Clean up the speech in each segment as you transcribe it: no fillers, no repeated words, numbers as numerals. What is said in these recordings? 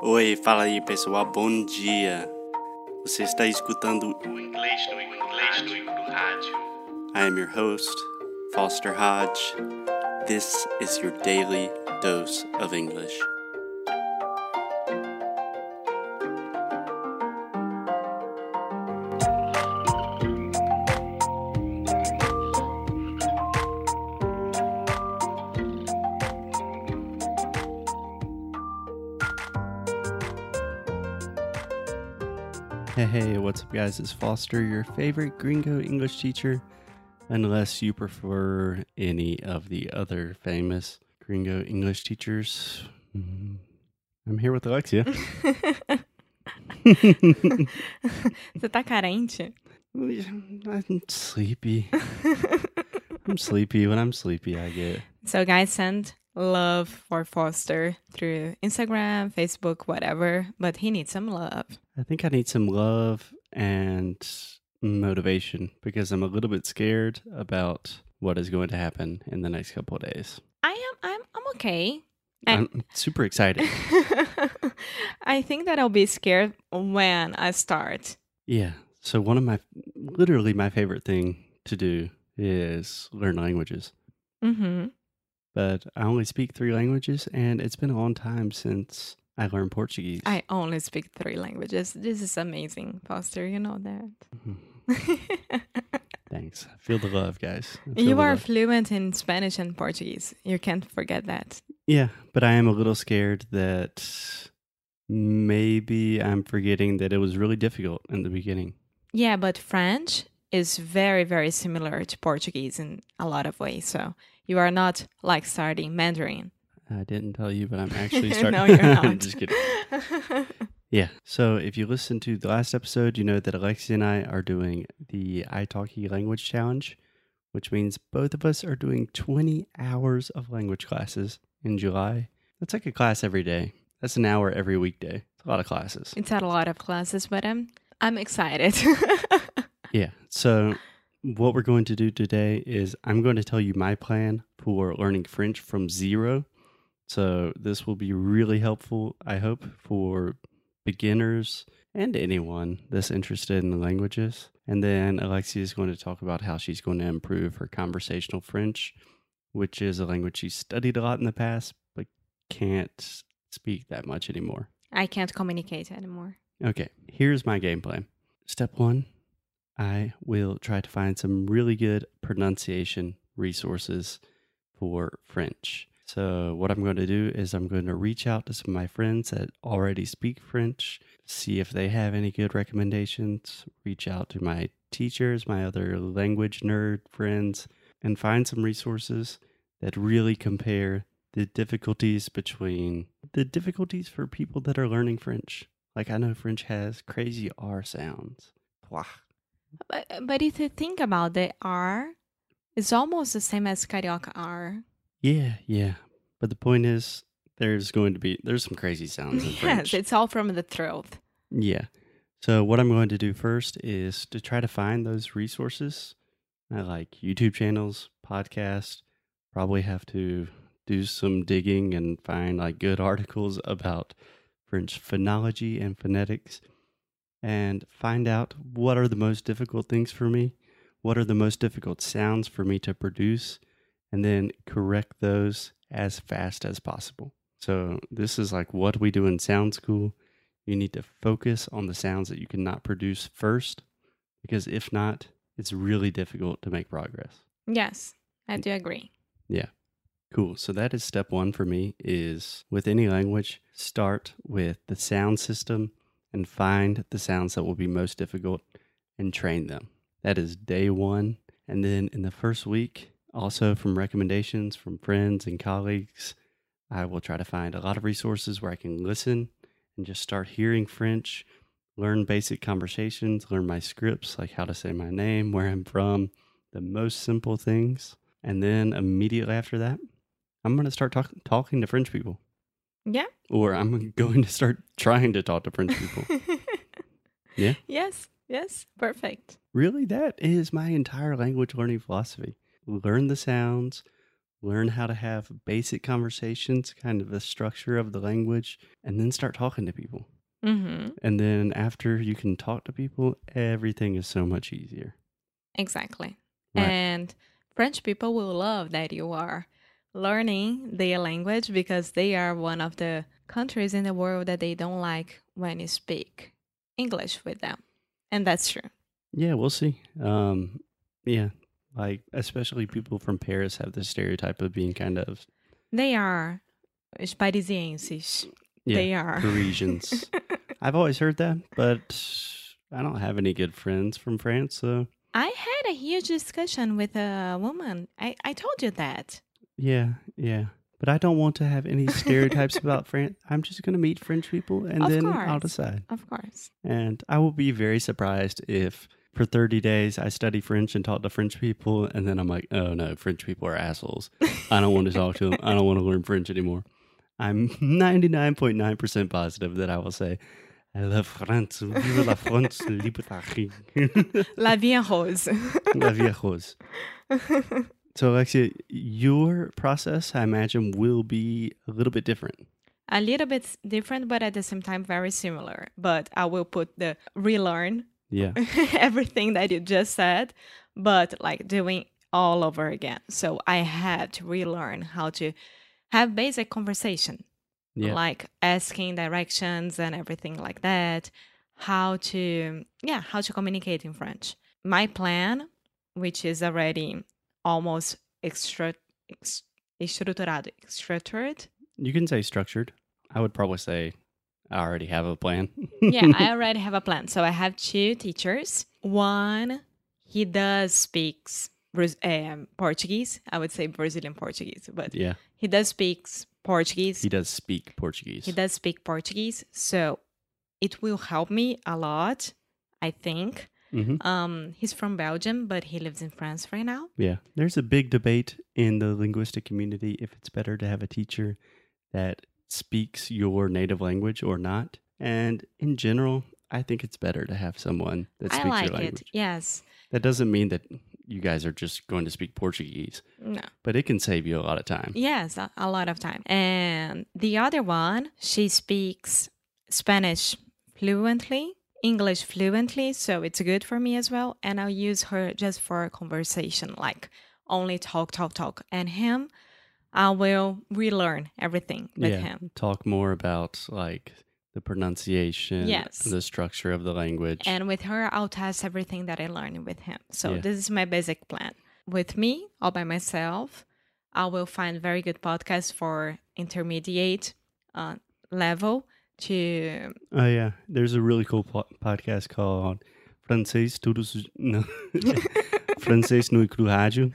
Oi, fala aí pessoal, bom dia. Você está escutando o Inglês no Rádio. I am your host, Foster Hodge. This is your daily dose of English. Hey, what's up guys? It's Foster, your favorite gringo English teacher, unless you prefer any of the other famous gringo English teachers. I'm here with Alexia. Você tá carente? I'm sleepy. I'm sleepy. When I'm sleepy, I get... So guys, send love for Foster through Instagram, Facebook, whatever, but he needs some love. I think I need some love and motivation because I'm a little bit scared about what is going to happen in the next couple of days. I'm okay. I'm super excited. I think that I'll be scared when I start. Yeah. So one of literally my favorite thing to do is learn languages. Mm-hmm. But I only speak 3 languages, and it's been a long time since I learned Portuguese. I only speak 3 languages. This is amazing, Foster. You know that. Thanks. I feel the love, guys. You are fluent in Spanish and Portuguese. You can't forget that. Yeah, but I am a little scared that maybe I'm forgetting that it was really difficult in the beginning. Yeah, but French is very, very similar to Portuguese in a lot of ways. So you are not like starting Mandarin. I didn't tell you, but I'm actually starting. No, you're not. I'm just kidding. Yeah. So if you listened to the last episode, you know that Alexia and I are doing the italki language challenge, which means both of us are doing 20 hours of language classes in July. That's like a class every day. That's an hour every weekday. It's a lot of classes. It's a lot of classes, but I'm excited. Yeah. So what we're going to do today is I'm going to tell you my plan for learning French from zero. So this will be really helpful, I hope, for beginners and anyone that's interested in the languages. And then Alexia is going to talk about how she's going to improve her conversational French, which is a language she studied a lot in the past, but can't speak that much anymore. I can't communicate anymore. Okay, here's my game plan. Step 1, I will try to find some really good pronunciation resources for French. So what I'm going to do is I'm going to reach out to some of my friends that already speak French, see if they have any good recommendations, reach out to my teachers, my other language nerd friends, and find some resources that really compare the difficulties for people that are learning French. Like I know French has crazy R sounds. Blah. But if you think about the R, it's almost the same as Carioca R. Yeah. But the point is, there's some crazy sounds in French. Yes, it's all from the throat. Yeah. So what I'm going to do first is to try to find those resources. I like YouTube channels, podcasts, probably have to do some digging and find like good articles about French phonology and phonetics and find out what are the most difficult things for me, what are the most difficult sounds for me to produce, and then correct those as fast as possible. So this is like what we do in sound school. You need to focus on the sounds that you cannot produce first, because if not, it's really difficult to make progress. Yes, I do agree. Yeah. Cool. So that is step 1 for me is with any language, start with the sound system and find the sounds that will be most difficult and train them. That is day 1. And then in the first week, also from recommendations from friends and colleagues, I will try to find a lot of resources where I can listen and just start hearing French, learn basic conversations, learn my scripts, like how to say my name, where I'm from, the most simple things. And then immediately after that, I'm going to start talking to French people. Yeah. Or I'm going to start trying to talk to French people. Yeah? Yes, perfect. Really, that is my entire language learning philosophy. Learn the sounds, learn how to have basic conversations, kind of the structure of the language, and then start talking to people. Mm-hmm. And then after you can talk to people, everything is so much easier. Exactly. Right. And French people will love that you are learning their language because they are one of the countries in the world that they don't like when you speak English with them. And that's true. Yeah, we'll see. Yeah, like especially people from Paris have this stereotype of being kind of They are os parisienses. yeah, They are. Parisians. I've always heard that, but I don't have any good friends from France, so I had a huge discussion with a woman. I told you that. yeah. But I don't want to have any stereotypes about France. I'm just going to meet French people and Of then I'll course. decide. Of course. And I will be very surprised if for 30 days I study French and talk to French people, and then I'm like, oh no, French people are assholes. I don't want to talk to them. I don't want to learn French anymore. I'm 99.9% positive that I will say, I love France. Vive la France, liberté. La vie en rose. La vie est rose. So, Alexia, your process, I imagine, will be a little bit different. A little bit different, but at the same time very similar. But I will put the relearn Yeah. everything that you just said, but like doing all over again. So I had to relearn how to have basic conversation, Yeah. like asking directions and everything like that. How to communicate in French. My plan, which is already almost structured. You can say structured. I would probably say I already have a plan. Yeah, I already have a plan. So I have 2 teachers. One, he does speaks Portuguese. I would say Brazilian Portuguese, but Yeah. he does speaks Portuguese. He does speak Portuguese. He does speak Portuguese. So it will help me a lot, I think. Mm-hmm. He's from Belgium, but he lives in France right now. Yeah. There's a big debate in the linguistic community if it's better to have a teacher that speaks your native language or not. And in general, I think it's better to have someone that I speaks like your language. it. Yes. That doesn't mean that you guys are just going to speak Portuguese, No. but it can save you a lot of time. Yes, a lot of time. And the other one, she speaks Spanish fluently, English fluently, so it's good for me as well. And I'll use her just for a conversation, like only talk. And him, I will relearn everything with him. Talk more about like the pronunciation, Yes. the structure of the language. And with her, I'll test everything that I learned with him. So Yeah. this is my basic plan. With me, all by myself, I will find very good podcasts for intermediate level to... Oh yeah, there's a really cool podcast called Francês Todos no Francês no Rádio.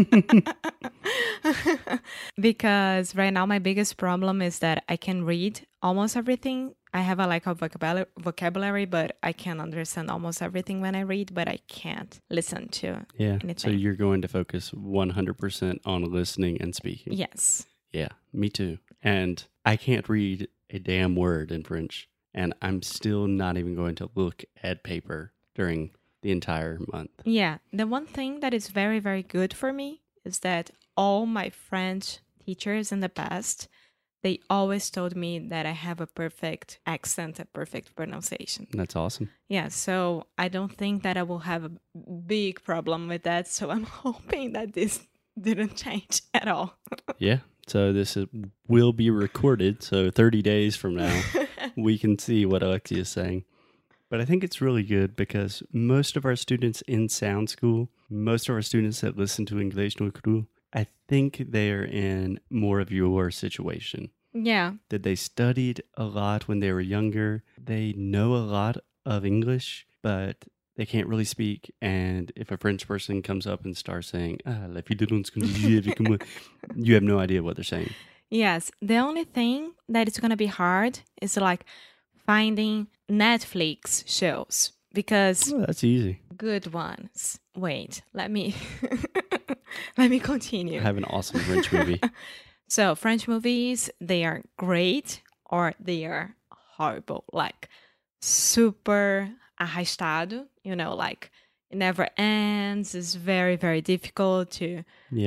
Because right now my biggest problem is that I can read almost everything. I have a lack of vocabulary, but I can understand almost everything when I read, but I can't listen to anything. So you're going to focus 100% on listening and speaking. Yes. Yeah, me too. And I can't read a damn word in French, and I'm still not even going to look at paper during the entire month. Yeah, the one thing that is very, very good for me is that all my French teachers in the past, they always told me that I have a perfect accent, a perfect pronunciation. That's awesome. Yeah, so I don't think that I will have a big problem with that. So I'm hoping that this didn't change at all. Yeah. So this will be recorded. So 30 days from now, we can see what Alexia is saying. But I think it's really good because most of our students in Sound School, most of our students that listen to English no Cru, I think they're in more of your situation. Yeah. That they studied a lot when they were younger. They know a lot of English, but they can't really speak. And if a French person comes up and starts saying, la fille de l'on, you have no idea what they're saying. Yes. The only thing that is going to be hard is like finding Netflix shows because that's easy. Good ones. Wait, let me continue. I have an awesome French movie. So French movies, they are great or they are horrible, like super arrastado, like it never ends. It's very, very difficult to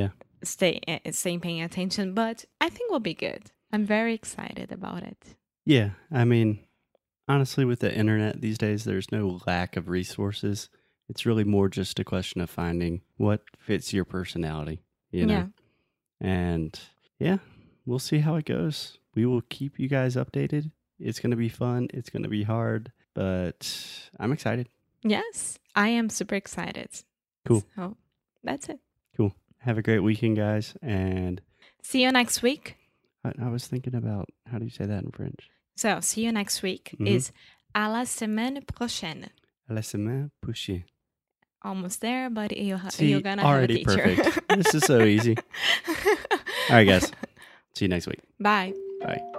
staying paying attention, but I think we'll be good. I'm very excited about it. Yeah, I mean, honestly, with the internet these days, there's no lack of resources. It's really more just a question of finding what fits your personality, you know? And yeah, we'll see how it goes. We will keep you guys updated. It's going to be fun. It's going to be hard, but I'm excited. Yes, I am super excited. Cool. So that's it. Cool. Have a great weekend, guys. And see you next week. I was thinking about, how do you say that in French? So, see you next week is à la semaine prochaine. À la semaine prochaine. Almost there, but you're going to already have a teacher. Perfect. This is so easy. All right, guys. See you next week. Bye. Bye.